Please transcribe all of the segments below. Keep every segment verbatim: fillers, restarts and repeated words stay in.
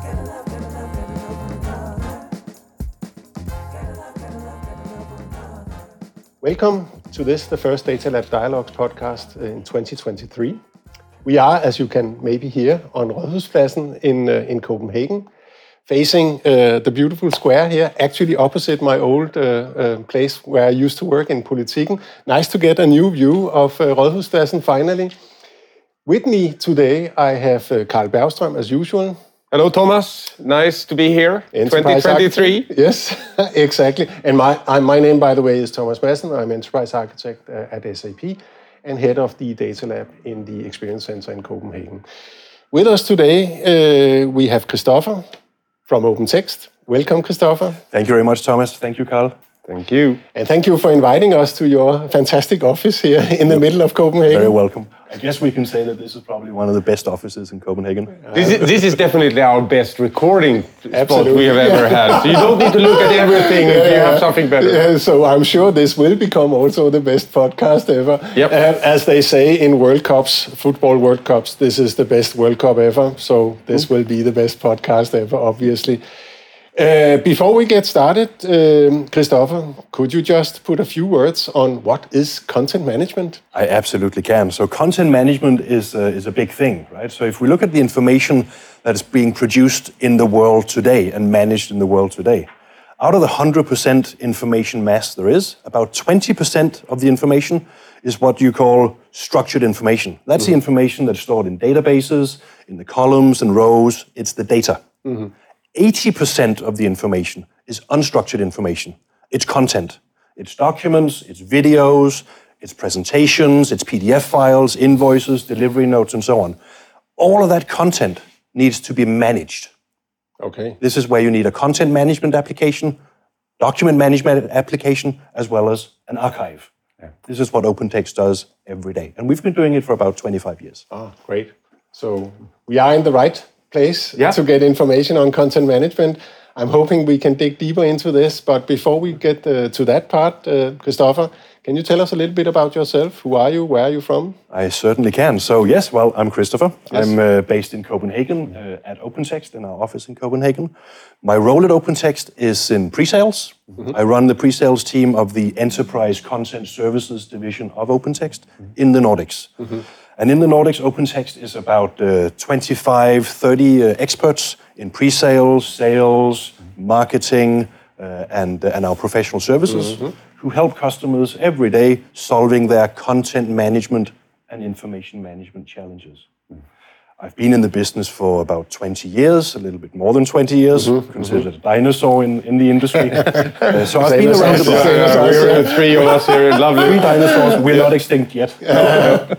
Welcome to this, the first Data Lab Dialogues podcast in twenty twenty-three. We are, as you can maybe hear, on Rådhuspladsen in, uh, in Copenhagen, facing uh, the beautiful square here, actually opposite my old uh, uh, place where I used to work in Politiken. Nice to get a new view of uh, Rådhuspladsen finally. With me today, I have uh, Carl Bergström, as usual. Hello, Thomas. Nice to be here. Enterprise twenty twenty-three. Architect. Yes, exactly. And my I, my name, by the way, is Thomas Madsen. I'm Enterprise Architect uh, at S A P and head of the Data Lab in the Experience Center in Copenhagen. With us today, uh, we have Christopher from OpenText. Welcome, Christopher. Thank you very much, Thomas. Thank you, Carl. Thank you. And thank you for inviting us to your fantastic office here in the middle of Copenhagen. Very welcome. I guess we can say that this is probably one of the best offices in Copenhagen. This is, this is definitely our best recording spot Absolutely. we have ever had. So you don't need to look at everything if you have something better. Yeah, so I'm sure this will become also the best podcast ever. Yep. Uh, as they say in World Cups, football World Cups, this is the best World Cup ever. So this mm. will be the best podcast ever, obviously. Uh, before we get started, um, Christopher, could you just put a few words on what is content management? I absolutely can. So content management is, uh, is a big thing, right? So if we look at the information that is being produced in the world today and managed in the world today, out of the one hundred percent information mass there is, about twenty percent of the information is what you call structured information. That's mm-hmm. the information that's stored in databases, in the columns and rows. It's the data. Mm-hmm. eighty percent of the information is unstructured information. It's content. It's documents, it's videos, it's presentations, it's P D F files, invoices, delivery notes, and so on. All of that content needs to be managed. Okay. This is where you need a content management application, document management application, as well as an archive. Yeah. This is what OpenText does every day. And we've been doing it for about twenty-five years. Ah, great. So we are in the right place yeah. to get information on content management. I'm hoping we can dig deeper into this, but before we get uh, to that part, uh, Christopher, can you tell us a little bit about yourself? Who are you? Where are you from? I certainly can. So yes, well, I'm Christopher. Yes. I'm uh, based in Copenhagen uh, at OpenText in our office in Copenhagen. My role at OpenText is in pre-sales. Mm-hmm. I run the pre-sales team of the Enterprise Content Services division of OpenText mm-hmm. in the Nordics. Mm-hmm. And in the Nordics, OpenText is about uh, twenty-five, thirty uh, experts in pre-sales, sales, marketing, uh, and, uh, and our professional services mm-hmm. who help customers every day solving their content management and information management challenges. Mm. I've been in the business for about twenty years, a little bit more than twenty years, mm-hmm. considered mm-hmm. a dinosaur in, in the industry. uh, so I've been around about... Yeah, yeah, we're the three of us here, lovely. Three dinosaurs, we're not extinct yet. No.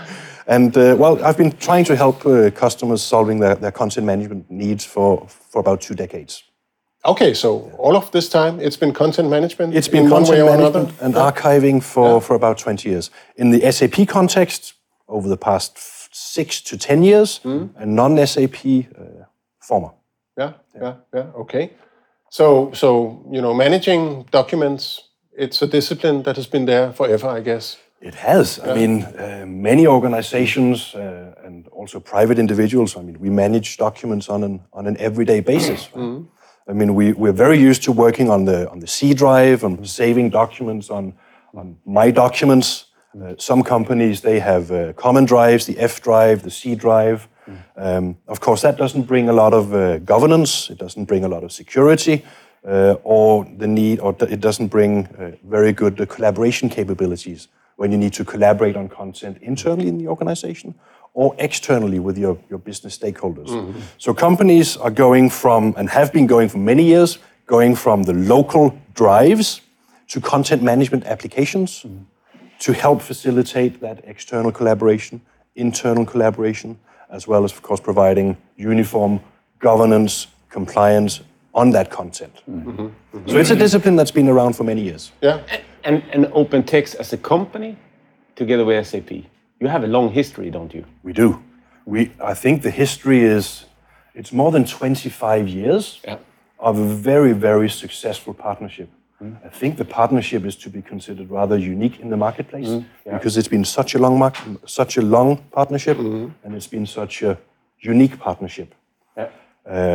And, uh, well, I've been trying to help uh, customers solving their, their content management needs for, for about two decades. Okay, so all of this time, it's been content management? It's been content management and archiving for, yeah. for about twenty years. In the S A P context, over the past f- six to ten years, mm. and non-S A P uh, former. Yeah, yeah, yeah, yeah, okay. So, so, you know, managing documents, it's a discipline that has been there forever, I guess. It has. Yeah. I mean, uh, many organizations uh, and also private individuals, I mean, we manage documents on an on an everyday basis. Right? Mm-hmm. I mean, we, we're very used to working on the on the C drive and saving documents on, on My Documents. Uh, some companies, they have uh, common drives, the F drive, the C drive. Mm-hmm. Um, of course, that doesn't bring a lot of uh, governance. It doesn't bring a lot of security. Uh, or the need, or it doesn't bring uh, very good uh, collaboration capabilities when you need to collaborate on content internally in the organization or externally with your, your business stakeholders. Mm-hmm. So companies are going from, and have been going for many years, going from the local drives to content management applications mm-hmm. to help facilitate that external collaboration, internal collaboration, as well as, of course, providing uniform governance, compliance on that content. Mm-hmm. Mm-hmm. So it's a discipline that's been around for many years. Yeah. And, and OpenText as a company, together with S A P, you have a long history, don't you? We do. We, I think the history is, it's more than twenty-five years yeah. of a very, very successful partnership. Mm. I think the partnership is to be considered rather unique in the marketplace mm. yeah. because it's been such a long, mar- such a long partnership mm-hmm. and it's been such a unique partnership. Yeah. Uh,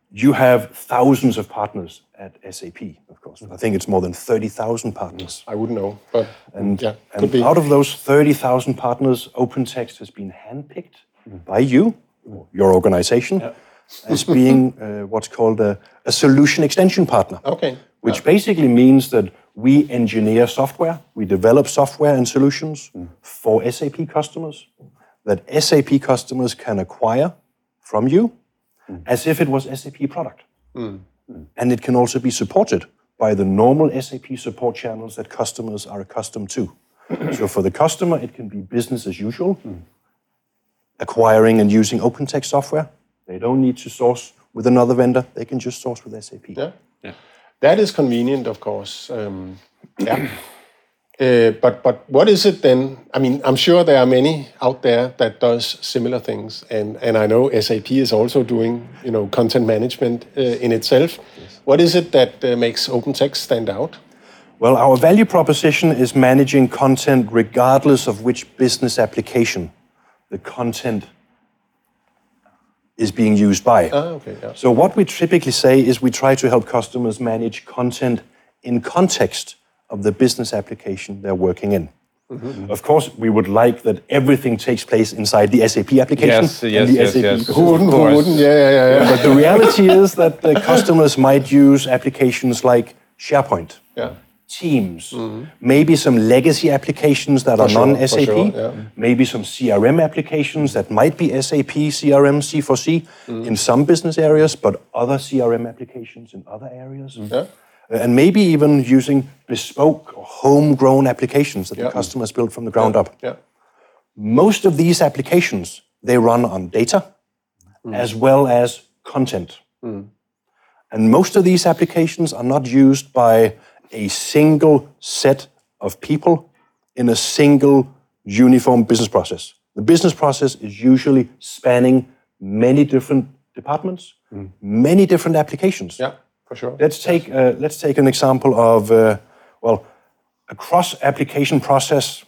you have thousands of partners at S A P, of course. I think it's more than thirty thousand partners. I wouldn't know, but And, yeah, could and be. out of those thirty thousand partners, OpenText has been handpicked by you, your organization, as being uh, what's called a, a solution extension partner. Okay. Which basically means that we engineer software, we develop software and solutions for S A P customers that S A P customers can acquire from you as if it was S A P product. And it can also be supported by the normal S A P support channels that customers are accustomed to. So for the customer, it can be business as usual, acquiring and using OpenText software. They don't need to source with another vendor. They can just source with S A P. Yeah. Yeah. That is convenient, of course. Um, yeah. Uh, but but what is it then? I mean, I'm sure there are many out there that does similar things, and and I know S A P is also doing, you know, content management uh, in itself. Yes. What is it that uh, makes OpenText stand out? Well, our value proposition is managing content regardless of which business application the content is being used by. Ah, okay. Yeah. So what we typically say is we try to help customers manage content in context of the business application they're working in. Mm-hmm. Of course, we would like that everything takes place inside the S A P application. Yes, and yes, the yes, S A P yes. Who wouldn't? Who wouldn't? Yeah, yeah, yeah. yeah. But the reality is that the customers might use applications like SharePoint, yeah. Teams, mm-hmm. maybe some legacy applications that for are sure, non-S A P, sure, yeah. maybe some C R M applications that might be S A P, C R M, C four C mm-hmm. in some business areas, but other C R M applications in other areas. Mm-hmm. Yeah. And maybe even using bespoke or homegrown applications that yeah. the customers built from the ground yeah. up. Yeah. Most of these applications, they run on data mm. as well as content. Mm. And most of these applications are not used by a single set of people in a single uniform business process. The business process is usually spanning many different departments, mm. many different applications. Yeah. For sure. Let's take uh, let's take an example of uh, well, a cross-application process.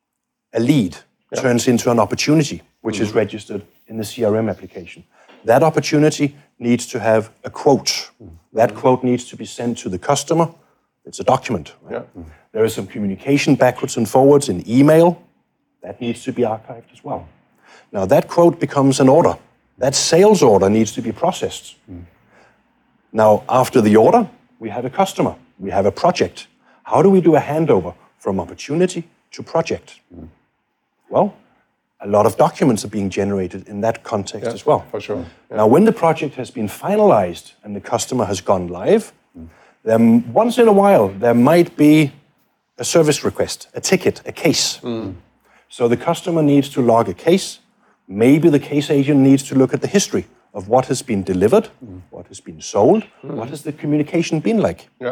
A lead yeah. turns into an opportunity, which mm-hmm. is registered in the C R M application. That opportunity needs to have a quote. Mm-hmm. That quote needs to be sent to the customer. It's a document. Right? Yeah. Mm-hmm. There is some communication backwards and forwards in email. That needs to be archived as well. Now that quote becomes an order. That sales order needs to be processed. Mm-hmm. Now, after the order, we have a customer, we have a project. How do we do a handover from opportunity to project? Mm. Well, a lot of documents are being generated in that context yeah, as well. For sure. Yeah. Now, when the project has been finalized and the customer has gone live, mm. then once in a while, there might be a service request, a ticket, a case. Mm. So the customer needs to log a case. Maybe the case agent needs to look at the history of what has been delivered, mm. what has been sold, mm. what has the communication been like. Yeah.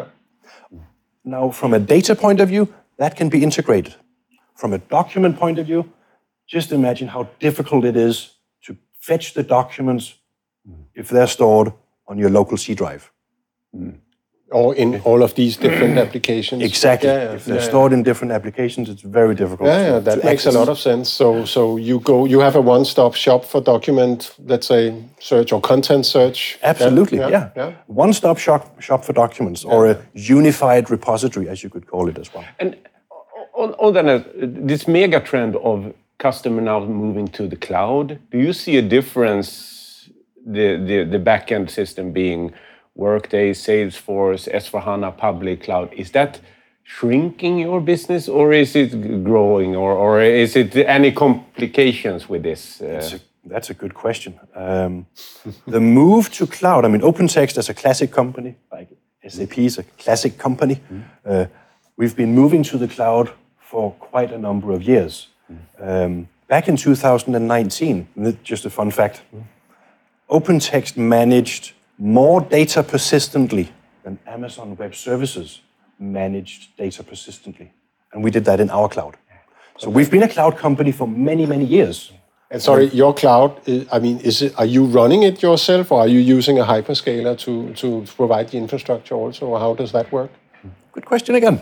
Now, from a data point of view, that can be integrated. From a document point of view, just imagine how difficult it is to fetch the documents mm. if they're stored on your local C drive. Mm. Or in all of these different applications. Exactly. Yeah, yeah, if they're yeah, stored yeah. in different applications, it's very difficult. Yeah, to, yeah, that to makes access. a lot of sense. So, so you go, you have a one-stop shop for document, let's say, search or content search. Absolutely. Yeah. yeah. yeah. One-stop shop shop for documents, yeah. or a unified repository, as you could call it as well. And on, on that, this mega trend of customer now moving to the cloud, do you see a difference? The the the backend system being Workday, Salesforce, S four HANA, public cloud, is that shrinking your business or is it growing or, or is it any complications with this? Uh... That's, a, that's a good question. Um, the move to cloud, I mean, OpenText as a classic company, like S A P is a classic company, mm. uh, we've been moving to the cloud for quite a number of years. Mm. Um, back in two thousand nineteen, just a fun fact, mm. OpenText managed more data persistently than Amazon Web Services managed data persistently. And we did that in our cloud. So we've been a cloud company for many, many years. And sorry, your cloud, I mean, is it, are you running it yourself or are you using a hyperscaler to, to provide the infrastructure also? Or how does that work? Good question again.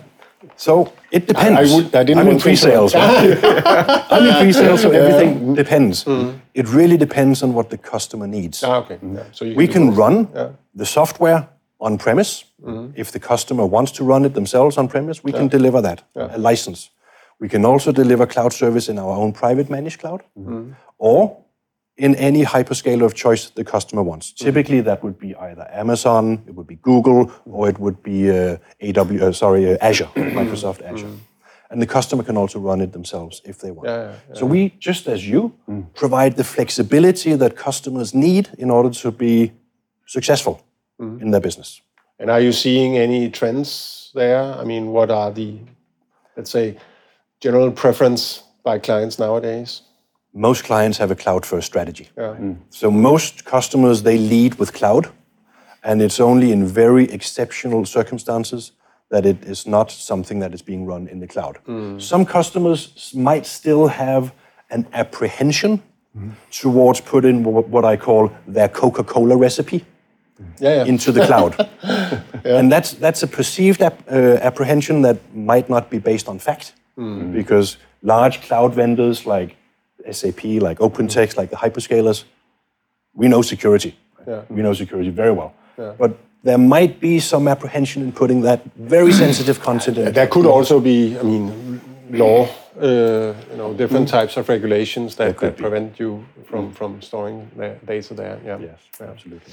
So it depends. I, I, would, I didn't I'm in want to pre-sales. Right? I'm in pre-sales, so everything depends. Mm. It really depends on what the customer needs. Ah, okay. Yeah. So you we can, can run yeah. the software on-premise. Mm. If the customer wants to run it themselves on-premise, we yeah. can deliver that, yeah. a license. We can also deliver cloud service in our own private managed cloud, mm. or in any hyperscaler of choice the customer wants. Mm. Typically, that would be either Amazon, it would be Google, or it would be uh, A W, uh, sorry, uh, Azure, Microsoft Azure. Mm. And the customer can also run it themselves if they want. Yeah, yeah, yeah. So we, just as you, mm. provide the flexibility that customers need in order to be successful mm. in their business. And are you seeing any trends there? I mean, what are the, let's say, general preference by clients nowadays? Most clients have a cloud-first strategy. Yeah. Mm. So most customers, they lead with cloud, and it's only in very exceptional circumstances that it is not something that is being run in the cloud. Mm. Some customers might still have an apprehension mm. towards putting what I call their Coca-Cola recipe yeah, yeah. into the cloud. yeah. And that's, that's a perceived ap- uh, apprehension that might not be based on fact, mm. because large cloud vendors like S A P, like OpenText, like the hyperscalers, we know security. Yeah. We know security very well. Yeah. But there might be some apprehension in putting that very sensitive content in. There could also be, I mean, law, uh, you know, different mm. types of regulations that, that prevent you from, mm. from storing the data there. Yeah. Yes, yeah. absolutely.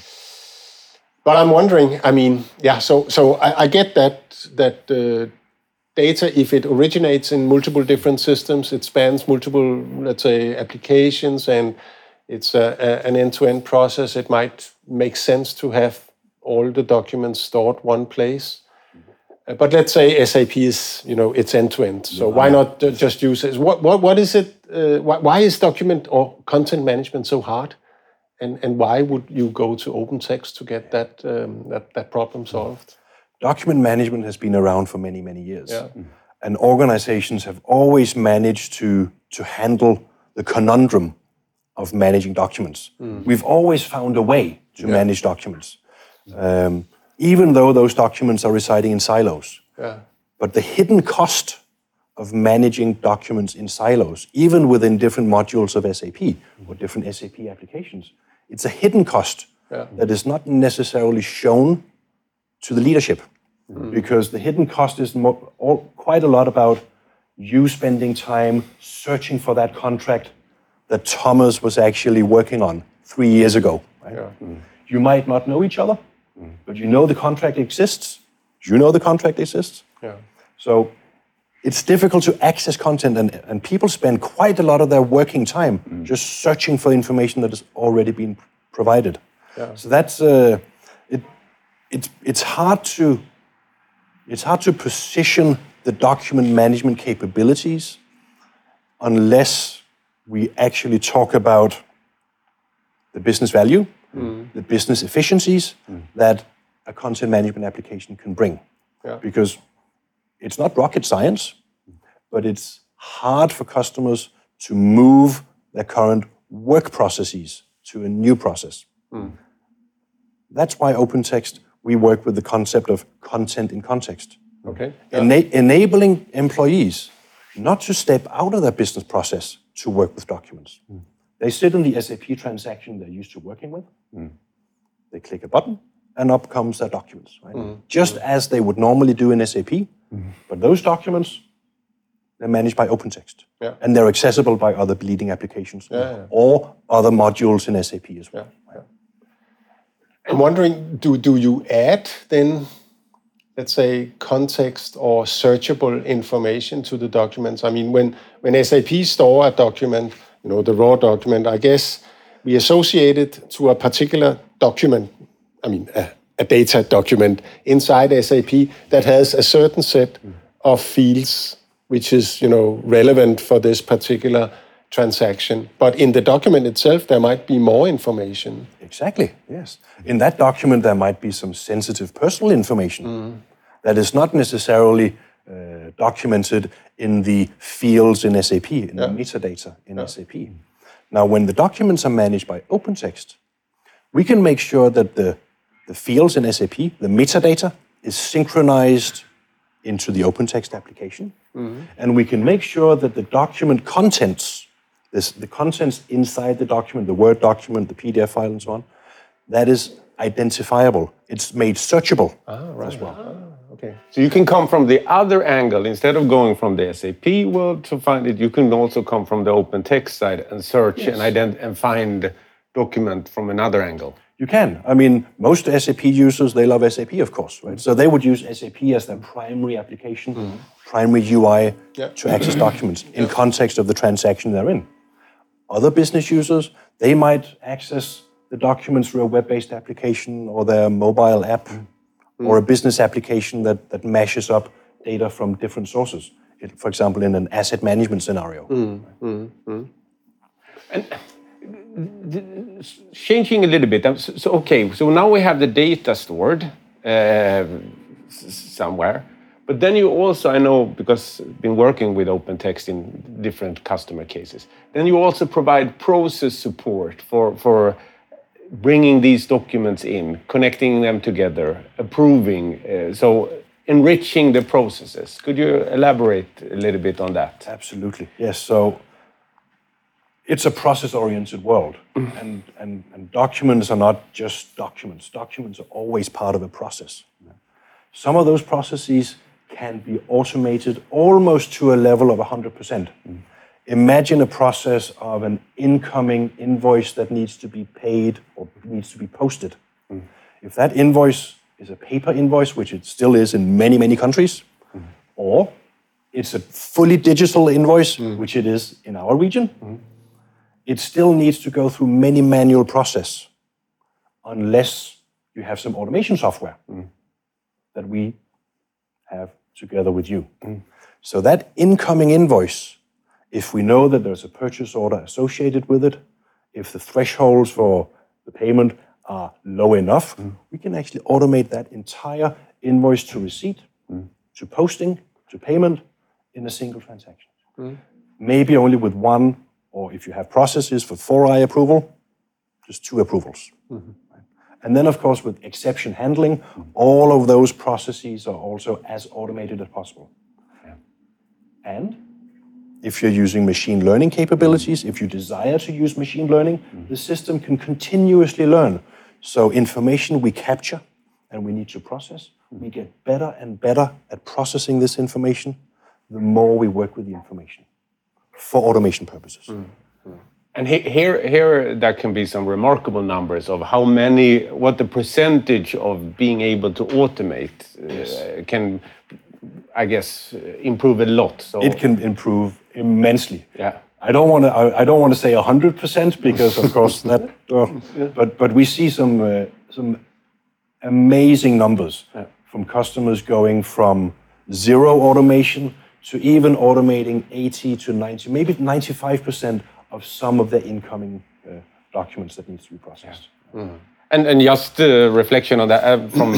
But I'm wondering, I mean, yeah, so so I, I get that that uh, data, if it originates in multiple different systems, it spans multiple, let's say, applications, and it's a, a, an end-to-end process, it might make sense to have all the documents stored one place. Uh, but let's say S A P is, you know, it's end-to-end. So yeah. why not uh, just use it? What, what, what is it? Uh, why, why is document or content management so hard? And, and why would you go to OpenText to get that, um, that, that problem solved? Document management has been around for many, many years. Yeah. And organizations have always managed to, to handle the conundrum of managing documents. Mm. We've always found a way to yeah. manage documents, um, even though those documents are residing in silos. Yeah. But the hidden cost of managing documents in silos, even within different modules of S A P or different S A P applications, it's a hidden cost yeah. that is not necessarily shown to the leadership. Mm. Because the hidden cost is mo- all, quite a lot about you spending time searching for that contract that Thomas was actually working on three years ago. Right? Yeah. Mm. You might not know each other, mm. but you know the contract exists. You know the contract exists. Yeah. So it's difficult to access content, and, and people spend quite a lot of their working time mm. just searching for information that has already been provided. Yeah. So that's uh, it. It's it's hard to it's hard to position the document management capabilities unless we actually talk about the business value, mm. the business efficiencies mm. that a content management application can bring. Yeah. Because it's not rocket science, but it's hard for customers to move their current work processes to a new process. Mm. That's why OpenText, we work with the concept of content in context. Okay. Yeah. Ena- enabling employees not to step out of their business process to work with documents. Mm. They sit in the S A P transaction they're used to working with. Mm. They click a button, and up comes their documents. Right? Mm. Just mm. as they would normally do in S A P, mm. but those documents, they're managed by OpenText. Yeah. And they're accessible by other bleeding applications yeah, yeah. or other modules in S A P as well. Yeah, yeah. I'm wondering, do, do you add then, let's say, context or searchable information to the documents? I mean, when, when S A P store a document, you know, the raw document, I guess we associate it to a particular document, I mean, a, a data document inside S A P that has a certain set mm. of fields which is, you know, relevant for this particular transaction. But in the document itself, there might be more information. Exactly, yes. In that document, there might be some sensitive personal information mm. that is not necessarily uh, documented in the fields in S A P, in yeah. the metadata in yeah. S A P. Now, when the documents are managed by OpenText, we can make sure that the, the fields in S A P, the metadata, is synchronized into the OpenText application. Mm-hmm. And we can make sure that the document contents, this, the contents inside the document, the Word document, the P D F file, and so on, that is identifiable. It's made searchable ah, right. as well. Ah, okay. So you can come from the other angle. Instead of going from the S A P world to find it, you can also come from the OpenText side and search yes. and ident- and find document from another angle. You can. I mean, most S A P users, they love S A P, of course, right? So they would use S A P as their primary application, mm-hmm. primary U I yep. to access documents in yep. context of the transaction they're in. Other business users, they might access the documents through a web-based application or their mobile app mm-hmm. or a business application that, that mashes up data from different sources. It, for example, in an asset management scenario. Mm-hmm. And changing a little bit, so, so okay, so now we have the data stored uh, somewhere, but then you also, I know, because I've been working with OpenText in different customer cases, then you also provide process support for, for bringing these documents in, connecting them together, approving, uh, so enriching the processes. Could you elaborate a little bit on that? Absolutely, yes. So it's a process-oriented world, mm. and, and, and documents are not just documents. Documents are always part of a process. Some of those processes can be automated almost to a level of one hundred percent. Mm. Imagine a process of an incoming invoice that needs to be paid or needs to be posted. Mm. If that invoice is a paper invoice, which it still is in many, many countries, mm. or it's a fully digital invoice, mm. which it is in our region, mm. it still needs to go through many manual process unless you have some automation software mm. that we have together with you. Mm. So that incoming invoice, if we know that there's a purchase order associated with it, if the thresholds for the payment are low enough, mm. we can actually automate that entire invoice to receipt, mm. to posting, to payment in a single transaction. Mm. Maybe only with one, or if you have processes for four I approval, just two approvals. Mm-hmm. And then, of course, with exception handling, mm-hmm. all of those processes are also as automated as possible. Yeah. And if you're using machine learning capabilities, mm-hmm. if you desire to use machine learning, mm-hmm. the system can continuously learn. So information we capture and we need to process, mm-hmm. we get better and better at processing this information the more we work with the information for automation purposes. Mm-hmm. And he, here, here, there can be some remarkable numbers of how many, what the percentage of being able to automate yes. uh, can, I guess, improve a lot. So it can improve immensely. Yeah. I don't want to. I, I don't want to say a hundred percent because, of course, that. Uh, yeah. But but we see some uh, some amazing numbers yeah. from customers going from zero automation to even automating eighty to ninety, maybe ninety-five percent of some of the incoming uh, documents that needs to be processed. Yeah. Mm. And and just a reflection on that uh, from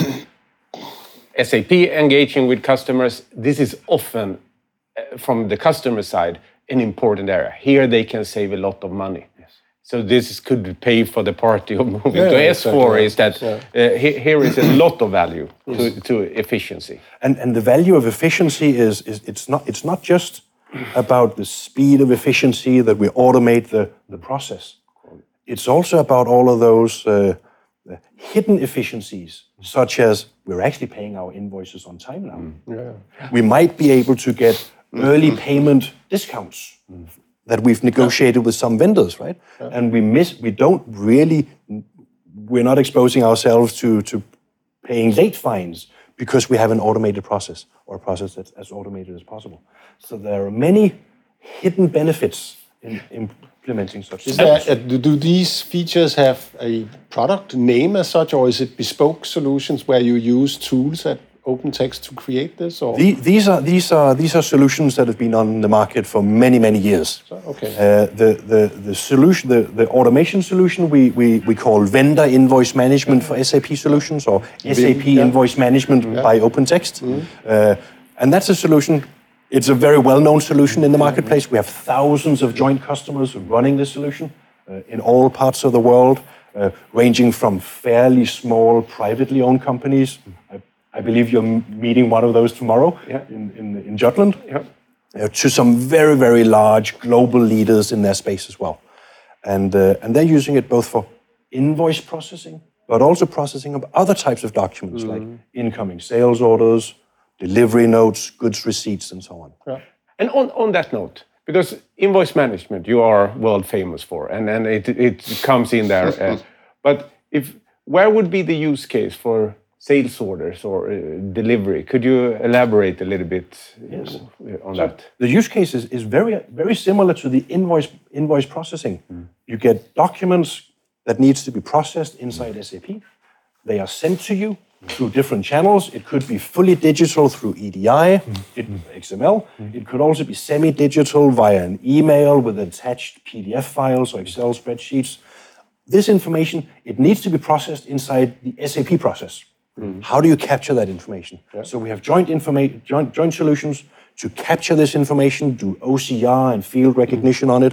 S A P engaging with customers, this is often uh, from the customer side an important area. Here they can save a lot of money. Yes. So this could pay for the party of moving yeah, to yeah, S four. Exactly. Is that yeah. uh, he, here is a lot of value yes. to, to efficiency. And and the value of efficiency is is it's not it's not just about the speed of efficiency that we automate the, the process. It's also about all of those uh, hidden efficiencies, such as we're actually paying our invoices on time now. Mm. Yeah. We might be able to get early payment discounts mm. that we've negotiated yeah. with some vendors, right? Yeah. And we miss, we don't really, we're not exposing ourselves to, to paying late fines because we have an automated process or a process that's as automated as possible. So there are many hidden benefits in implementing such is there, uh, do these features have a product name as such, or is it bespoke solutions where you use tools at OpenText to create this? Or? The, these are these are these are solutions that have been on the market for many many years. So, okay. Uh, the the the solution the, the automation solution we, we we call vendor invoice management yeah. for S A P solutions, or S A P yeah. invoice management yeah. by OpenText, mm-hmm. uh, and that's a solution. It's a very well-known solution in the marketplace. We have thousands of joint customers running this solution uh, in all parts of the world, uh, ranging from fairly small, privately owned companies. I I believe you're m- meeting one of those tomorrow Yeah. in, in, in Jutland. Yeah. You know, to some very, very large global leaders in their space as well. And, uh, and they're using it both for invoice processing, but also processing of other types of documents like incoming sales orders, delivery notes, goods receipts, and so on. Yeah. And on, on that note, because invoice management you are world famous for, and, and it, it comes in there. uh, but if where would be the use case for sales orders or uh, delivery? Could you elaborate a little bit Yes. uh, on So that? the use case is, is very, very similar to the invoice, invoice processing. You get documents that needs to be processed inside S A P. They are sent to you through different channels. It could be fully digital through E D I, it, X M L. It could also be semi-digital via an email with attached P D F files or Excel spreadsheets. This information, it needs to be processed inside the S A P process. How do you capture that information? So we have joint, informa- joint, joint solutions to capture this information, do O C R and field recognition on it,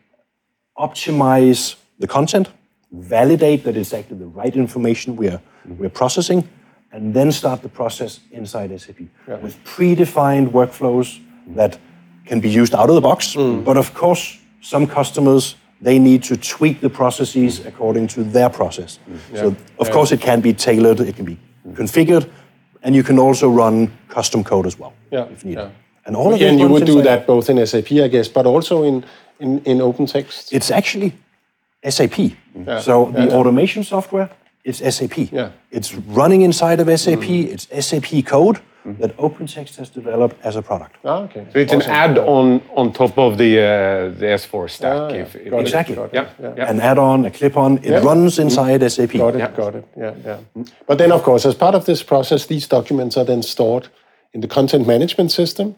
optimize the content, validate that it's actually the right information we are, we're processing, and then start the process inside S A P with predefined workflows that can be used out of the box. But of course, some customers, they need to tweak the processes according to their process. So of course it can be tailored, it can be configured, and you can also run custom code as well Yeah, if needed. yeah. And all of And it you runs would do inside- that both in S A P, I guess, but also in, in, in OpenText? It's actually S A P. Yeah, So yeah, the yeah. automation software, it's S A P. Yeah. It's running inside of S A P. It's S A P code that OpenText has developed as a product. Ah, okay. So it's Awesome. an add-on on top of the uh, the S four stack. Ah, yeah. if, if Got it, Exactly. got it, Yeah. yeah. yeah. An add-on, a clip-on, it Yeah. runs inside S A P. Got it, Yeah. got it. Yeah, yeah. But then, of course, as part of this process, these documents are then stored in the content management system.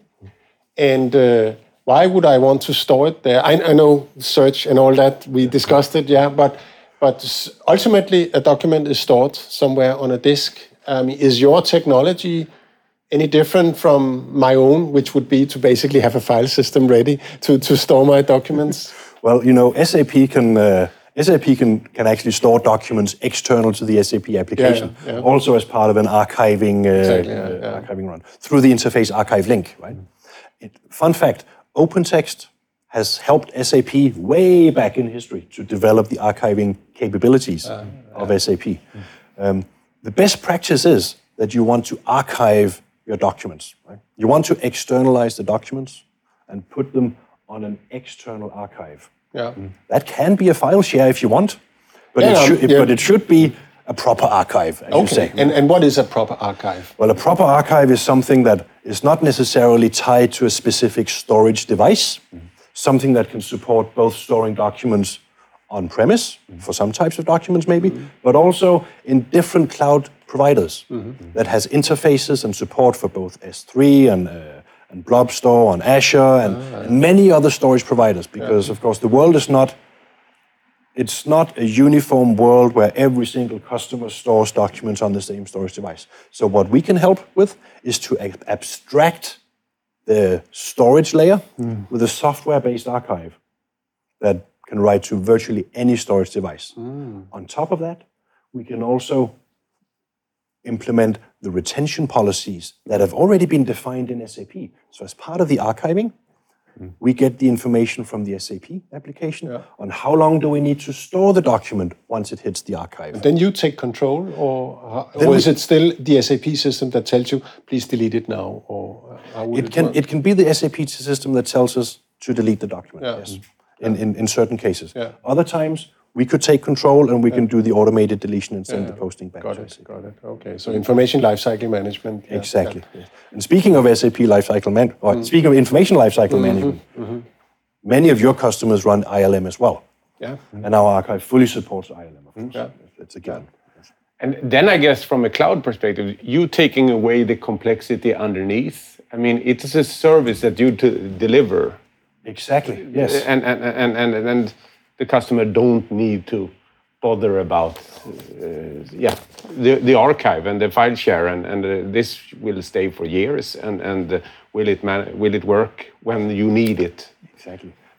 And uh, why would I want to store it there? I, I know search and all that, we discussed it, yeah, but but s- ultimately a document is stored somewhere on a disk. Um, is your technology any different from my own, which would be to basically have a file system ready to, to store my documents? Well, you know, S A P can uh, S A P can, can actually store documents external to the S A P application, Yeah, yeah. also as part of an archiving uh, Exactly, yeah, uh, yeah. archiving run through the interface archive link. Right. It, fun fact: OpenText has helped S A P way back in history to develop the archiving capabilities Ah, of S A P. Um, the best practice is that you want to archive your documents. Right? You want to externalize the documents and put them on an external archive. Yeah. That can be a file share if you want, but, Yeah, it, should, yeah. but it should be a proper archive, as you Okay. say. And, and what is a proper archive? Well, a proper archive is something that is not necessarily tied to a specific storage device, something that can support both storing documents on-premise, for some types of documents maybe, but also in different cloud providers that has interfaces and support for both S three and, uh, and Blob Store on Azure and, and many other storage providers, because of course the world is not It's not a uniform world where every single customer stores documents on the same storage device. So what we can help with is to ab- abstract the storage layer with a software-based archive that can write to virtually any storage device. On top of that, we can also implement the retention policies that have already been defined in S A P. So as part of the archiving, we get the information from the S A P application on how long do we need to store the document once it hits the archive. Then you take control, or, how, Then or we- is it still the S A P system that tells you, please delete it now? Or how would it, It can work? it can be the S A P system that tells us to delete the document. Yeah. Yes, in, in in certain cases. Yeah. Other times we could take control and we can do the automated deletion and send the posting back Got to it, S A P. got it. Okay, so information lifecycle management. yeah, Exactly. Yes. And speaking of S A P lifecycle man, or speaking of information lifecycle management, many of your customers run I L M as well, Yeah, and our archive fully supports I L M. Of course, Yeah. it's a given. And then I guess from a cloud perspective, you taking away the complexity underneath. I mean, it is a service that you to deliver, Exactly. Yes. and and and and, and the customer don't need to bother about, uh, yeah, the the archive and the file share, and and uh, this will stay for years, and and uh, will it man- will it work when you need it? Exactly.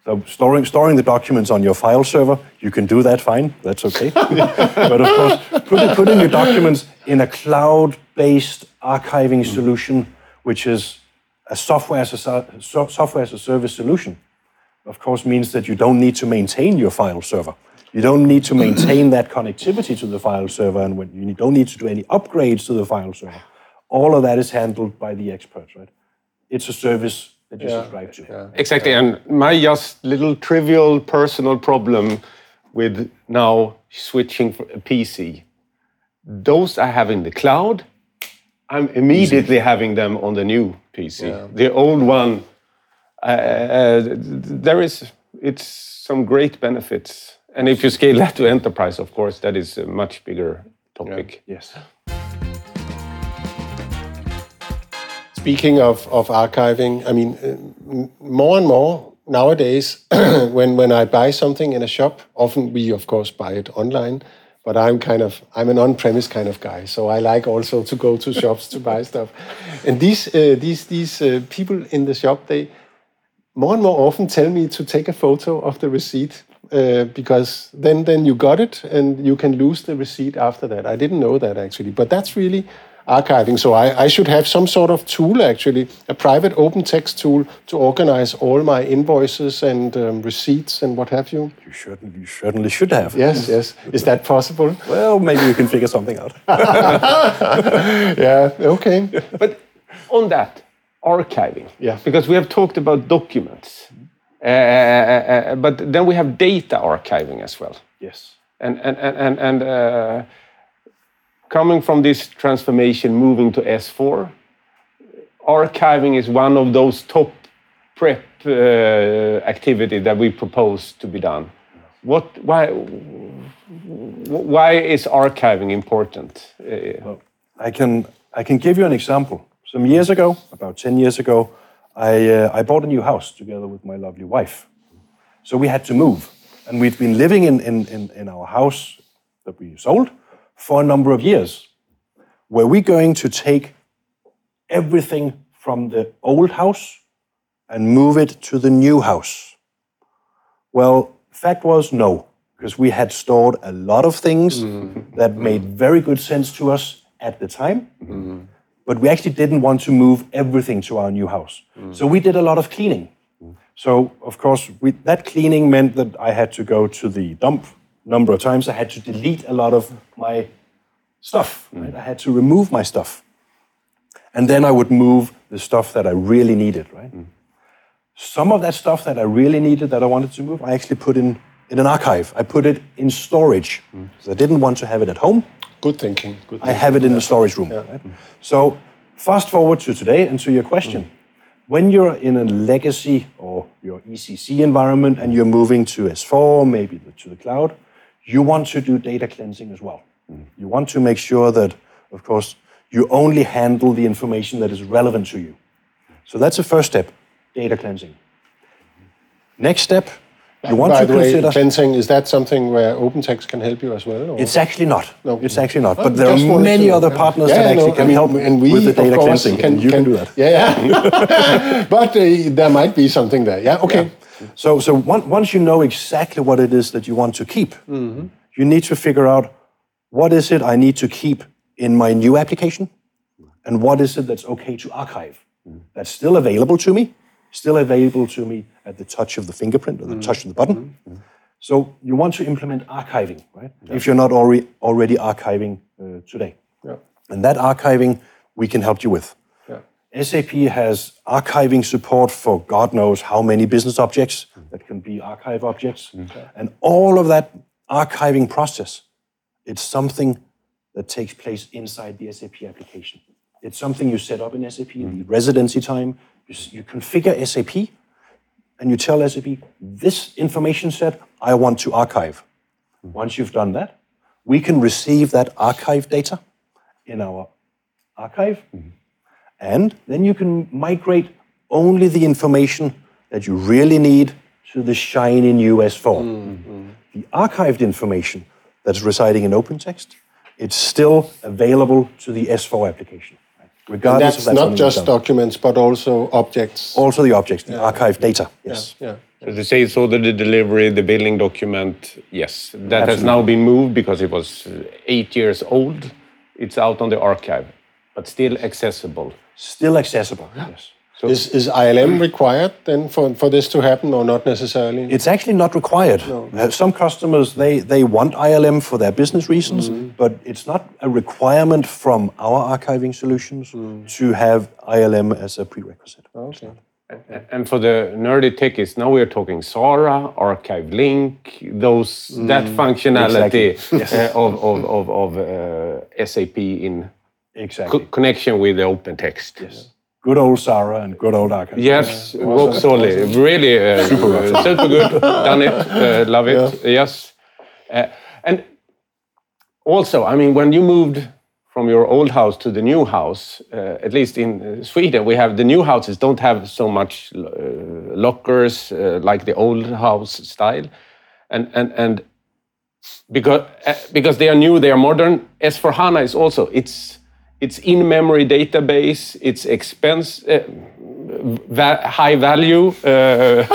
So storing storing the documents on your file server, you can do that fine. That's okay. But of course, putting, putting your documents in a cloud-based archiving solution, which is a software as a so, software as a service solution, of course, means that you don't need to maintain your file server. You don't need to maintain that connectivity to the file server, and when you don't need to do any upgrades to the file server. All of that is handled by the experts, right? It's a service that you yeah, subscribe to. Yeah. Exactly, and my just little trivial personal problem with now switching for a P C, those I have in the cloud, I'm immediately Easy. having them on the new P C. Yeah. The old one, uh, there is, it's some great benefits. And if you scale that to enterprise, of course, that is a much bigger topic. Yeah. Yes. Speaking of, of archiving, I mean, more and more nowadays, when, when I buy something in a shop, often we, of course, buy it online, but I'm kind of, I'm an on-premise kind of guy, so I like also to go to shops to buy stuff. And these, uh, these, these uh, people in the shop, they more and more often tell me to take a photo of the receipt, uh, because then, then you got it and you can lose the receipt after that. I didn't know that actually, but that's really archiving. So I, I should have some sort of tool, actually, a private open text tool to organize all my invoices and um, receipts and what have you. You certainly, you certainly should have. Yes, yes. Is that possible? Well, maybe you can figure something out. Yeah, okay. But on that, archiving. Yeah. Because we have talked about documents, uh, uh, but then we have data archiving as well. Yes. And, and, and, and, and uh, coming from this transformation, moving to S four, archiving is one of those top prep uh, activity that we propose to be done. What? Why? Why is archiving important? Well, I can I can give you an example. Some years ago, about ten years ago, I uh, I bought a new house together with my lovely wife. So we had to move, and we'd been living in in in, in our house that we sold for a number of years. Were we going to take everything from the old house and move it to the new house? Well, fact was no, because we had stored a lot of things mm-hmm. that made very good sense to us at the time, mm-hmm. but we actually didn't want to move everything to our new house. Mm-hmm. So we did a lot of cleaning. Mm-hmm. So, of course, we, that cleaning meant that I had to go to the dump number of times. I had to delete a lot of my stuff. Right? I had to remove my stuff. And then I would move the stuff that I really needed, right? Mm. Some of that stuff that I really needed, that I wanted to move, I actually put in, in an archive. I put it in storage. Mm. So I didn't want to have it at home. Good thinking. Good thinking. I have it in the storage room. Yeah. Right? Mm. So fast forward to today and to your question. Mm. When you're in a legacy or your E C C environment and you're moving to S four, maybe to the cloud, you want to do data cleansing as well. Mm. You want to make sure that, of course, you only handle the information that is relevant to you. So that's the first step, data cleansing. Next step, you want By to the consider... Way, cleansing, is that something where OpenText can help you as well? Or? It's actually not. No. It's actually not. Well, but there are many other partners yeah, that actually no, can I mean, help and we, with the data cleansing. Can, and you can, can do that. Yeah, yeah. But uh, there might be something there. Yeah, okay. Yeah. So, so one, once you know exactly what it is that you want to keep, mm-hmm. you need to figure out what is it I need to keep in my new application, and what is it that's okay to archive. Mm. That's still available to me, still available to me at the touch of the fingerprint or the mm. touch of the button. Mm. So you want to implement archiving, right? Yeah. If you're not already already archiving uh, today. Yeah. And that archiving we can help you with. Yeah. S A P has archiving support for God knows how many business objects mm. that can be archive objects. Mm. And all of that archiving process, it's something that takes place inside the S A P application. It's something you set up in S A P, mm. the residency time. You, you configure S A P, and you tell S A P, this information set, I want to archive. Mm. Once you've done that, we can receive that archive data in our archive, mm. and then you can migrate only the information that you really need to the shiny new S four. Mm. The archived information that's residing in OpenText, it's still available to the S four application. Regardless and that's, of that's not just documents, but also objects. Also the objects, the yeah. archive data, yes. Yeah, yeah, So the sales order, the delivery, the billing document, yes, that Absolutely. has now been moved because it was eight years old. It's out on the archive, but still accessible. Still accessible, yes. So is, is I L M required then for, for this to happen, or not necessarily? It's actually not required. No. Uh, Some customers, they, they want I L M for their business reasons, Mm-hmm. but it's not a requirement from our archiving solutions Mm. to have I L M as a prerequisite. Okay. And for the nerdy techies, now we're talking Sara, Archive Link, those that functionality Exactly. uh, of of of, of uh, S A P in Exactly. co- connection with the open text. Yes. Good old Sara and good old archive. Yes, rock solid, really uh, super, super good. Done it, uh, love it. Yes, uh, and also, I mean, when you moved from your old house to the new house, uh, at least in uh, Sweden, we have the new houses don't have so much uh, lockers uh, like the old house style, and and and because uh, because they are new, they are modern. S four HANA is also it's it's in-memory database, it's expense. Uh, va high value uh,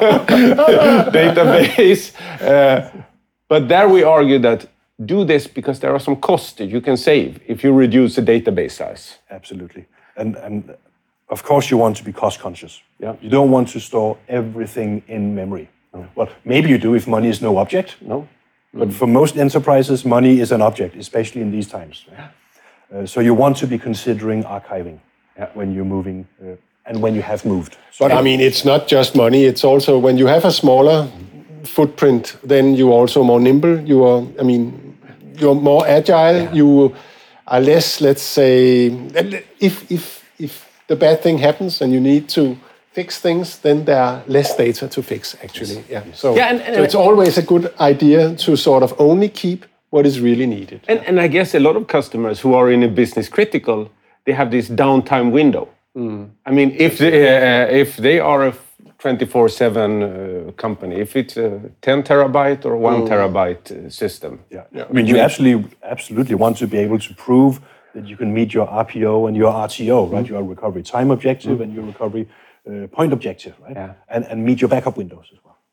database, uh, but there we argue that do this because there are some costs that you can save if you reduce the database size. Absolutely. And, and of course you want to be cost conscious. Yeah. You don't want to store everything in memory. Well, maybe you do if money is no object. No? But for most enterprises, money is an object, especially in these times. Uh, so you want to be considering archiving Yeah. when you're moving uh, and when you have moved. But I mean, it's not just money. It's also when you have a smaller footprint, then you're also more nimble. You are, I mean, you're more agile. Yeah. You are less, let's say, if if if the bad thing happens and you need to fix things, then there are less data to fix. Actually, yeah. So, Yeah, and- and- so it's always a good idea to sort of only keep what is really needed. And, and I guess a lot of customers who are in a business critical, they have this downtime window. I mean, if they, uh, if they are a twenty-four seven uh, company, if it's a ten terabyte or one terabyte uh, system. Yeah. I mean, you absolutely, absolutely want to be able to prove that you can meet your R P O and your R T O, right? Your recovery time objective and your recovery uh, point objective, right? Yeah. And, and meet your backup windows as well.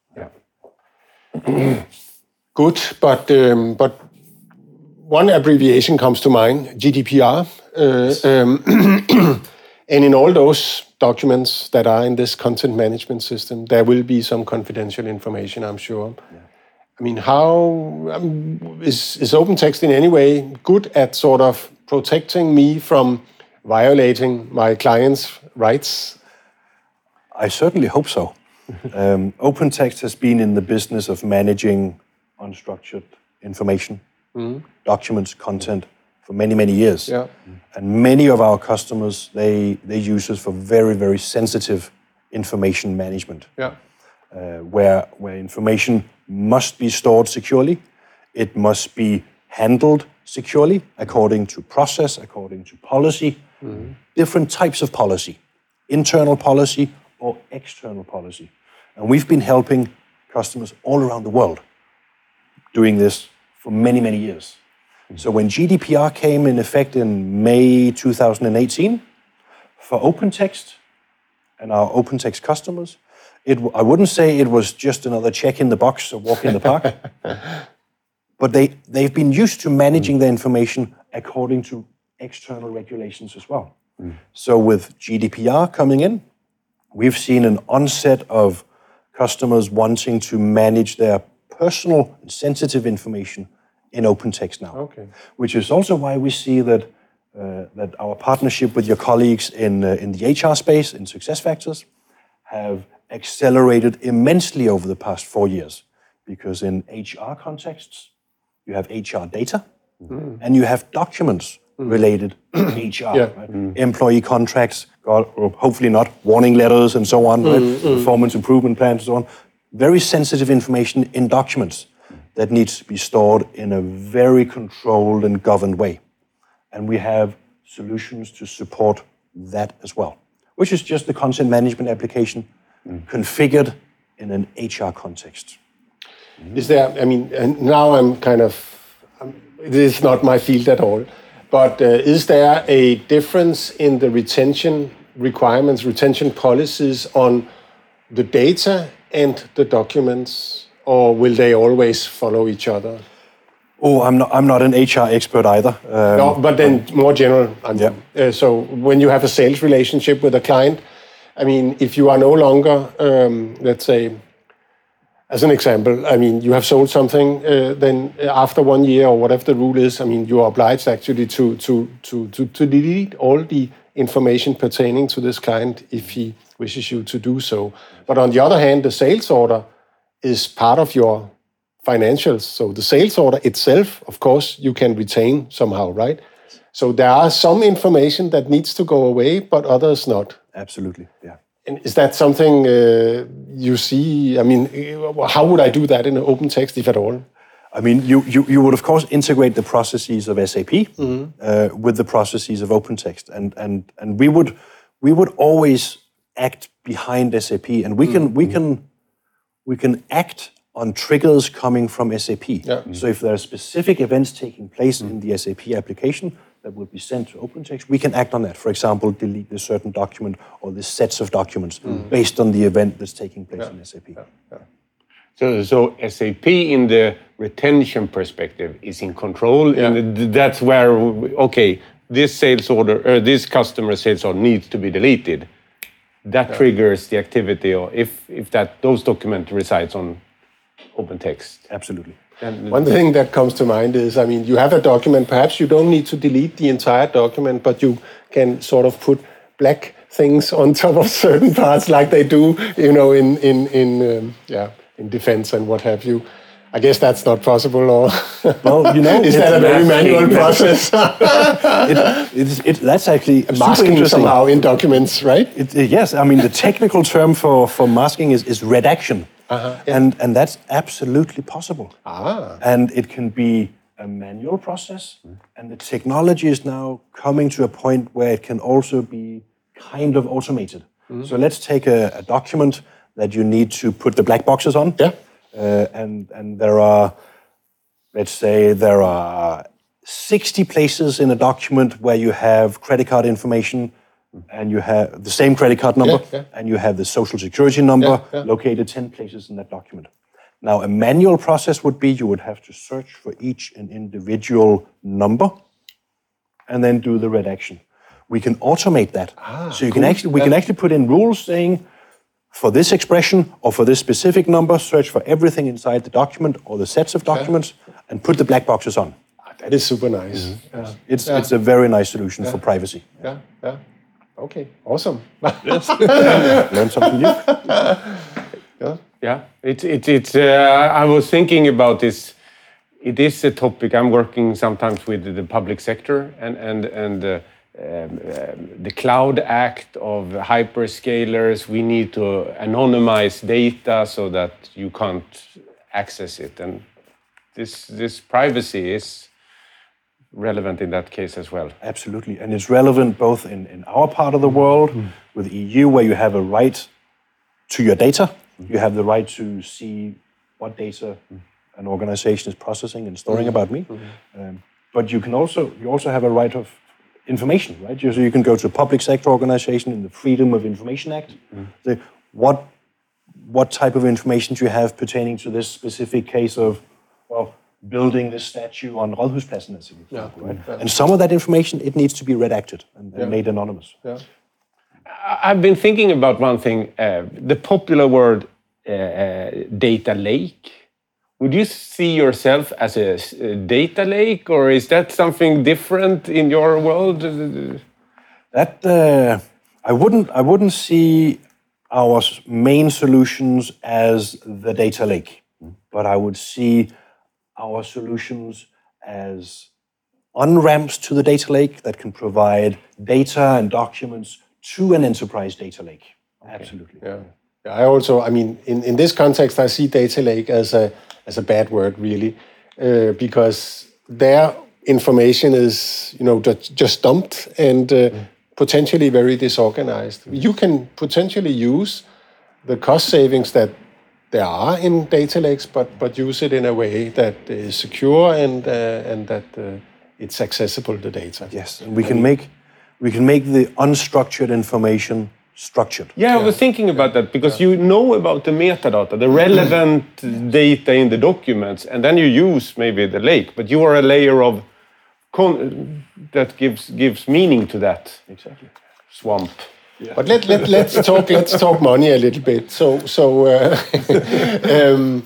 Yeah. Good, but um, but one abbreviation comes to mind: G D P R. Uh, um, and in all those documents that are in this content management system, there will be some confidential information, I'm sure. Yeah. I mean, how um, is is OpenText in any way good at sort of protecting me from violating my clients' rights? I certainly hope so. um, OpenText has been in the business of managing unstructured information, documents, content for many, many years. Yeah. And many of our customers, they, they use us for very, very sensitive information management, Yeah. uh, where, where information must be stored securely. It must be handled securely according to process, according to policy, different types of policy, internal policy or external policy. And we've been helping customers all around the world doing this for many, many years. So when G D P R came in effect in May two thousand eighteen, for OpenText and our OpenText customers, it, I wouldn't say it was just another check in the box or walk in the park, but they, they've been used to managing their information according to external regulations as well. So with G D P R coming in, we've seen an onset of customers wanting to manage their personal and sensitive information in OpenText now. Okay. Which is also why we see that uh, that our partnership with your colleagues in uh, in the H R space, in SuccessFactors, have accelerated immensely over the past four years. Because in H R contexts, you have H R data and you have documents related to H R, Yeah. right? Employee contracts, God, or hopefully not, warning letters and so on, right? Performance improvement plans and so on. Very sensitive information in documents that needs to be stored in a very controlled and governed way. And we have solutions to support that as well, which is just the content management application configured in an H R context. Is there, I mean, and now I'm kind of, um, this is not my field at all, but uh, is there a difference in the retention requirements, retention policies on the data and the documents, or will they always follow each other? Oh, I'm not. I'm not an H R expert either. Um, no, but then more general. I mean, yeah. uh, so when you have a sales relationship with a client, I mean, if you are no longer, um, let's say, as an example, I mean, you have sold something, uh, then after one year or whatever the rule is, I mean, you are obliged actually to to to to, to delete all the information pertaining to this client if he wishes you to do so. But on the other hand, the sales order is part of your financials. So the sales order itself, of course, you can retain somehow, right? So there are some information that needs to go away, but others not. Absolutely, yeah. And is that something uh, you see? I mean, how would I do that in an open text, if at all? I mean, you, you, you would, of course, integrate the processes of S A P mm-hmm. uh, with the processes of OpenText. And, and, and we would we would always act behind S A P. And we can, mm-hmm. we can, we can act on triggers coming from S A P. Yeah. So if there are specific events taking place mm. in the S A P application that will be sent to OpenText, we can act on that. For example, delete this certain document or this sets of documents mm. based on the event that's taking place yeah. in S A P. Yeah. Yeah. So, so S A P in the retention perspective is in control, yeah. and that's where, okay, this sales order, or this customer sales order needs to be deleted. That yeah. triggers the activity, or if, if that those document resides on OpenText. Absolutely. And one thing that comes to mind is, I mean, you have a document, perhaps you don't need to delete the entire document, but you can sort of put black things on top of certain parts like they do, you know, in, in, in um, yeah, in defense and what have you. I guess that's not possible, or well, you know, is that a very manual process? it, it, it, that's actually masking somehow in documents, right? It, it, yes, I mean the technical term for, for masking is, is redaction, uh-huh, yeah. and and that's absolutely possible. Ah. And it can be a manual process, mm. and the technology is now coming to a point where it can also be kind of automated. Mm. So let's take a, a document that you need to put the black boxes on. Yeah. Uh, and and there are, let's say, there are sixty places in a document where you have credit card information, and you have the same credit card number, yeah, yeah. and you have the social security number yeah, yeah. located ten places in that document. Now, a manual process would be you would have to search for each an individual number, and then do the redaction. We can automate that, ah, so you cool. can actually we yeah. can actually put in rules saying, for this expression or for this specific number, search for everything inside the document or the sets of documents yeah. and put the black boxes on. That is super nice. Mm-hmm. Yeah. It's yeah. it's a very nice solution yeah. for privacy. Yeah, yeah. Okay, awesome. Yes. Learn something new. Yeah, yeah. It's it's it's. Uh, I was thinking about this. It is a topic I'm working sometimes with the public sector and and and. Uh, Um, um, the Cloud Act of hyperscalers. We need to anonymize data so that you can't access it, and this this privacy is relevant in that case as well. Absolutely, and it's relevant both in, in our part of the world mm. with E U, where you have a right to your data. Mm. You have the right to see what data mm. an organization is processing and storing mm. about me. Mm. Um, but you can also you also have a right of information, right? So you can go to a public sector organization in the Freedom of Information Act. Mm. Say, what what type of information do you have pertaining to this specific case of, well, building this statue on Rådhuspladsen, as an example, yeah. right? Yeah. And some of that information, it needs to be redacted and, and yeah. made anonymous. Yeah. I've been thinking about one thing, uh, the popular word uh, uh, data lake. Would you see yourself as a, a data lake, or is that something different in your world? That uh, I wouldn't. I wouldn't see our main solutions as the data lake, but I would see our solutions as on-ramps to the data lake that can provide data and documents to an enterprise data lake. Okay. Absolutely. Yeah. yeah. I also. I mean, in, in this context, I see data lake as a as a bad word, really, uh, because their information is, you know, just dumped and uh, mm. potentially very disorganized. You can potentially use the cost savings that there are in data lakes, but but use it in a way that is secure and uh, and that uh, it's accessible, the data. Yes, and we can make we can make the unstructured information structured. Yeah, I was thinking about that because you know about the metadata, the relevant data in the documents, and then you use maybe the lake, but you are a layer of con- that gives gives meaning to that Exactly. swamp. Yeah. But let, let, let's talk let's talk money a little bit. So so uh, um,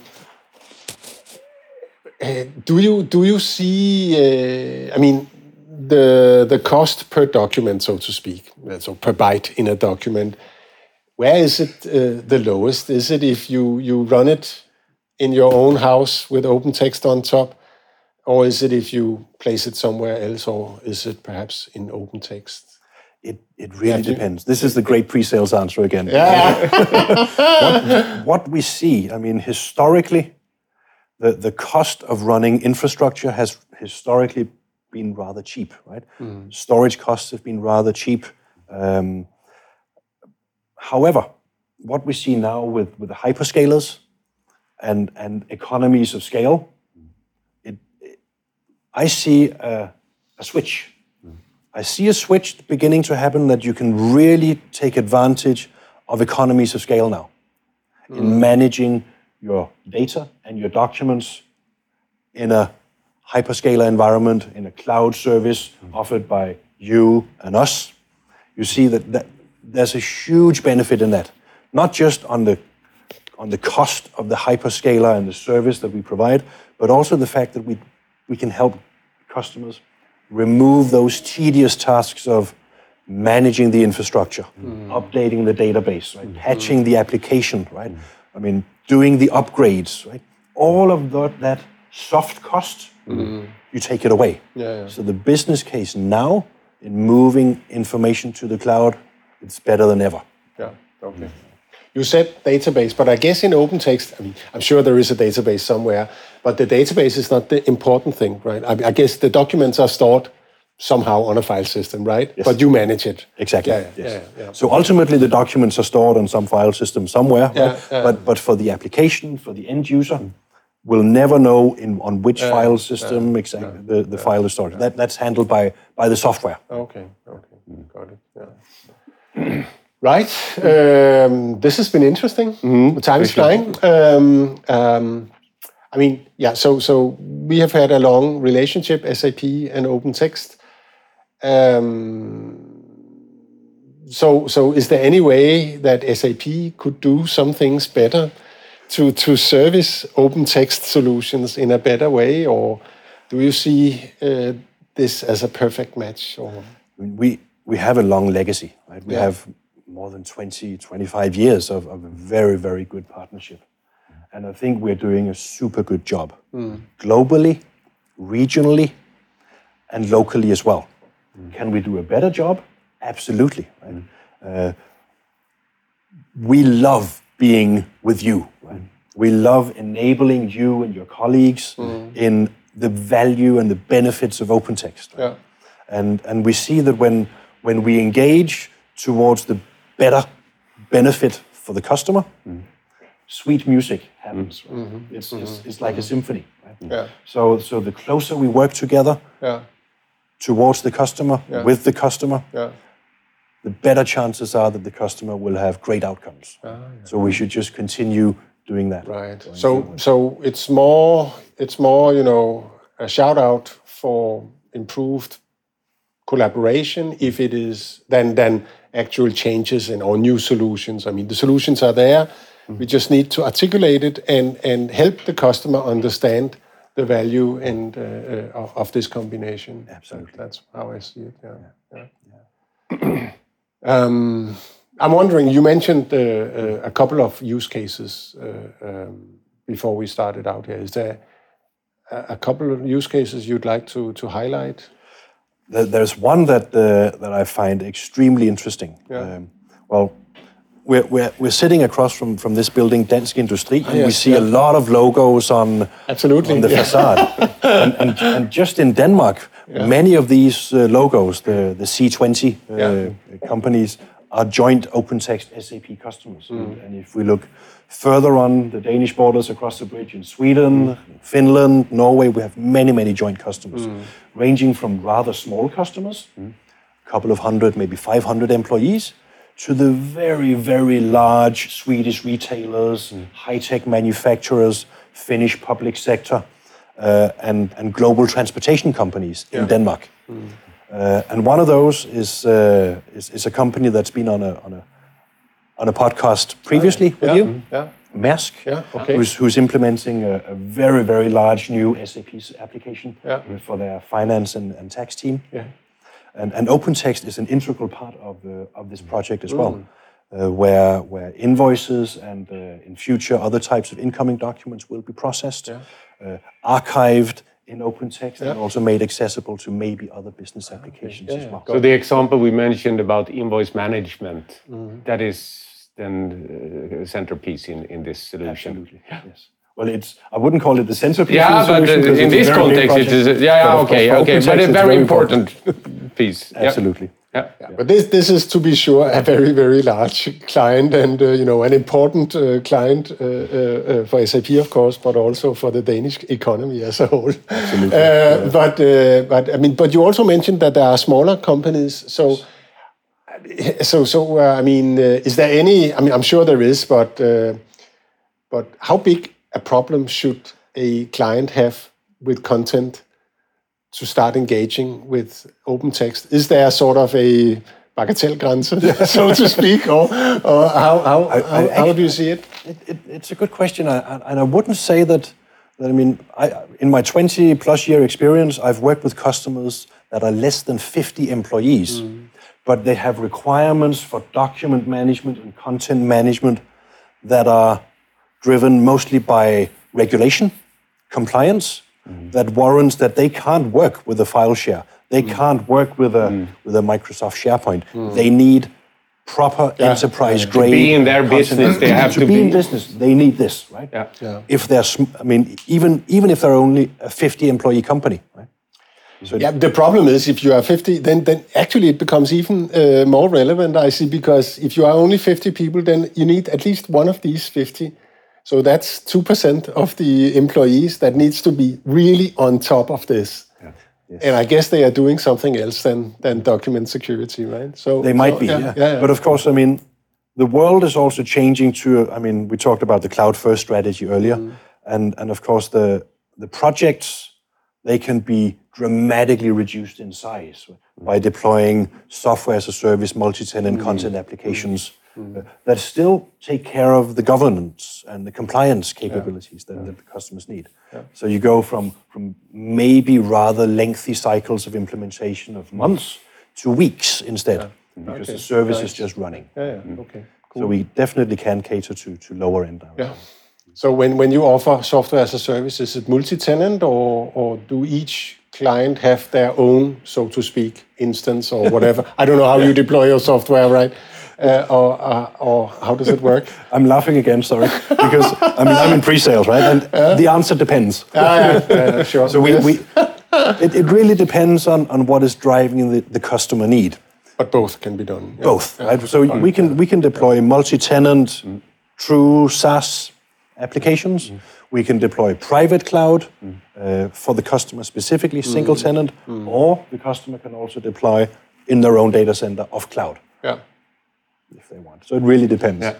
uh, do you do you see? Uh, I mean, the the cost per document, so to speak, so per byte in a document. Where is it uh, the lowest? Is it if you you run it in your own house with OpenText on top, or is it if you place it somewhere else, or is it perhaps in OpenText? It, it really depends. This is the great pre-sales answer again. Yeah. what, what we see, I mean, historically, the, the cost of running infrastructure has historically been rather cheap, right? Mm. Storage costs have been rather cheap. Um, however, what we see now with, with the hyperscalers and, and economies of scale, it, it, I see a, a switch. I see a switch beginning to happen that you can really take advantage of economies of scale now mm. in managing your data and your documents in a hyperscaler environment, in a cloud service mm. offered by you and us. You see that, that there's a huge benefit in that, not just on the on the cost of the hyperscaler and the service that we provide, but also the fact that we we can help customers remove those tedious tasks of managing the infrastructure, mm. updating the database, right? mm. patching the application, right? Mm. I mean, doing the upgrades, right? All of that, that soft cost, mm. you take it away. Yeah, yeah. So the business case now in moving information to the cloud, it's better than ever. Yeah, okay. Mm. You said database, but I guess in OpenText, I mean, I'm sure there is a database somewhere, but the database is not the important thing, right? I, I guess the documents are stored somehow on a file system, right? Yes. But you manage it. Exactly. Yeah, yes. yeah, yeah. So ultimately, the documents are stored on some file system somewhere, yeah, right? yeah. But but for the application, for the end user, mm. will never know in on which yeah, file system yeah, exactly yeah, the, the yeah, file is stored. Yeah. That that's handled by by the software. Okay. Okay. Mm. Got it. Yeah. Right. Um, this has been interesting. Mm-hmm. Time is flying. Um, um, I mean, yeah. So, so we have had a long relationship, S A P and OpenText. Um, so, so is there any way that S A P could do some things better to to service OpenText solutions in a better way, or do you see uh, this as a perfect match? Or we we have a long legacy, right? We yeah. have more than twenty, twenty-five years of, of a very, very good partnership. And I think we're doing a super good job, mm. globally, regionally, and locally as well. Mm. Can we do a better job? Absolutely. Right? Mm. Uh, we love being with you. Right? Mm. We love enabling you and your colleagues mm. in the value and the benefits of OpenText. Right? Yeah. And, and we see that when, when we engage towards the better benefit for the customer, mm. sweet music happens. Right? Mm-hmm. It's, mm-hmm. it's it's like mm-hmm. a symphony. Right? Yeah. So so the closer we work together yeah. towards the customer, yeah. with the customer, yeah. the better chances are that the customer will have great outcomes. Ah, yeah. So we should just continue doing that. Right. So forward. so it's more it's more you know a shout out for improved collaboration if it is than than actual changes in or new solutions. I mean, the solutions are there. Mm-hmm. We just need to articulate it and, and help the customer understand the value and uh, uh, of this combination. Absolutely. That's how I see it. Yeah. yeah. yeah. um, I'm wondering, you mentioned uh, uh, a couple of use cases uh, um, before we started out here. Is there a, a couple of use cases you'd like to, to highlight? There's one that uh, that I find extremely interesting. Yeah. Um, well, we're, we're we're sitting across from, from this building, Dansk Industri, and yes, we see yeah. a lot of logos on, Absolutely. on the yeah. facade. and, and, and just in Denmark, yeah. many of these uh, logos, the, the C twenty uh, yeah. companies, are joint OpenText S A P customers. Mm. And, and if we look further on the Danish borders across the bridge in Sweden, mm. Finland, Norway, we have many, many joint customers, mm. ranging from rather small customers, mm. a couple of hundred, maybe five hundred employees, to the very, very large Swedish retailers, mm. high-tech manufacturers, Finnish public sector, uh, and, and global transportation companies yeah. in Denmark. Mm. Uh, and one of those is, uh, is is a company that's been on a on a on a podcast previously oh, yeah. with yeah. you, yeah. Maersk, yeah. okay. who's, who's implementing a, a very, very large new S A P application yeah. for their finance and, and tax team. Yeah. And, and OpenText is an integral part of the, of this project as well, mm. uh, where where invoices and uh, in future other types of incoming documents will be processed, yeah. uh, archived in OpenText, yeah. and also made accessible to maybe other business applications yeah, as well. So the example we mentioned about invoice management, mm. that is then a centerpiece in, in this solution. Absolutely, yes. Well, it's I wouldn't call it the centerpiece. Yeah, of the but solution, uh, in this context, it is. Yeah, yeah okay, okay, but a very important, important piece. Absolutely. Yeah. Yeah. But this this is, to be sure, a very, very large client and, uh, you know, an important uh, client uh, uh, for S A P, of course, but also for the Danish economy as a whole. Absolutely. Uh, yeah. But, uh, but I mean, but you also mentioned that there are smaller companies. So, so, so uh, I mean, uh, is there any, I mean, I'm sure there is, but, uh, but how big a problem should a client have with content to start engaging with OpenText? Is there sort of a bagatellgrænse, so to speak, or, or how, how, I, I how, how do you see it? it, it it's a good question, I, I, and I wouldn't say that, that I mean, I, in my twenty plus year experience, I've worked with customers that are less than fifty employees, mm. but they have requirements for document management and content management that are driven mostly by regulation, compliance, mm. that warrants that they can't work with a file share. They mm. can't work with a mm. with a Microsoft SharePoint. Mm. They need proper yeah. enterprise yeah. grade. To be in their business, they have to, to be, be in business. They need this, right? Yeah. yeah. If they're, I mean, even even if they're only a fifty employee company, right? So yeah, the problem is if you are fifty, then then actually it becomes even uh, more relevant, I see, because if you are only fifty people, then you need at least one of these fifty. So that's two percent of the employees that needs to be really on top of this. Yeah. Yes. And I guess they are doing something else than, than document security, right? So they might so, be, yeah, yeah. Yeah, yeah. But of course, I mean, the world is also changing to, I mean, we talked about the cloud-first strategy earlier. Mm. And, and of course, the, the projects, they can be dramatically reduced in size mm. by deploying software as a service, multi-tenant mm. content applications mm. uh, that still take care of the governance and the compliance capabilities yeah. that, yeah. that the customers need. Yeah. So you go from, from maybe rather lengthy cycles of implementation of months to weeks instead, yeah. because okay. the service nice. is just running. Yeah, yeah. Mm. Okay. Cool. So we definitely can cater to, to lower end. Yeah. So when, when you offer software as a service, is it multi-tenant or, or do each client have their own, so to speak, instance or whatever? I don't know how you deploy your software, right? Uh, or, uh, or how does it work? I'm laughing again, sorry, because I mean I'm in pre-sales, right? And uh, the answer depends. Uh, yeah, yeah, sure. So we, yes. we it, it really depends on, on what is driving the, the customer need. But both can be done. Yeah. Both, yeah. right? So yeah. we can we can deploy yeah. multi-tenant, mm. true SaaS applications. Mm. We can deploy private cloud mm. uh, for the customer specifically, mm. single tenant, mm. or the customer can also deploy in their own data center of cloud. Yeah. If they want. So it really depends. Yeah.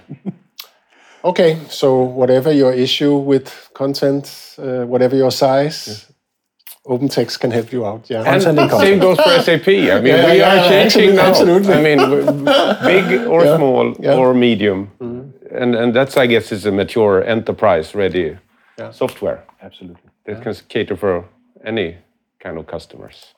Okay, so whatever your issue with content, uh, whatever your size, yeah. OpenText can help you out. Yeah, and same goes for S A P. I mean, yeah, we yeah, are changing now. Absolutely. I mean, big or yeah. small yeah. or medium, mm-hmm. and and that's, I guess, is a mature enterprise-ready yeah. software. Absolutely, that yeah. can cater for any kind of customers.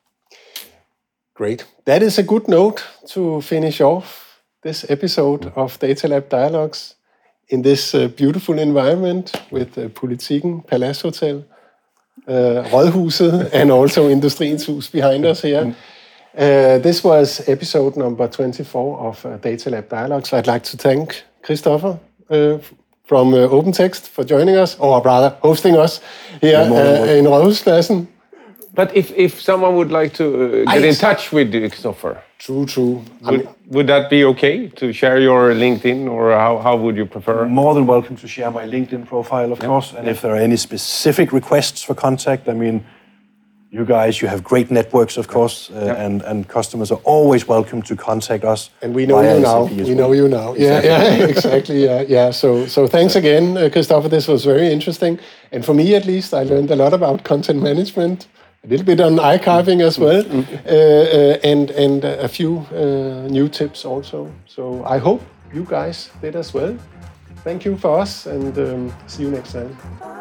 Great. That is a good note to finish off this episode of Data Lab Dialogues in this uh, beautiful environment with uh, Politiken, Palace Hotel, uh, Rådhuset, and also Industriens Hus behind us here. Uh, this was episode number twenty-four of uh, Data Lab Dialogues. I'd like to thank Christopher uh, from uh, OpenText for joining us, or rather hosting us here uh, in Rådhuspladsen. But if, if someone would like to uh, get in touch with Christopher, true, true. Would, would that be okay to share your LinkedIn, or how, how would you prefer? More than welcome to share my LinkedIn profile, of yep. course. And yep. if there are any specific requests for contact, I mean, you guys, you have great networks, of course, uh, yeah. and, and customers are always welcome to contact us. And we know you now. We well. know you now. Yeah, yeah, exactly. Yeah, yeah. So, so thanks again, uh, Christopher. This was very interesting. And for me, at least, I learned a lot about content management, a little bit on archiving as well, mm-hmm. uh, uh, and and a few uh, new tips also. So I hope you guys did as well. Thank you for us, and um, see you next time.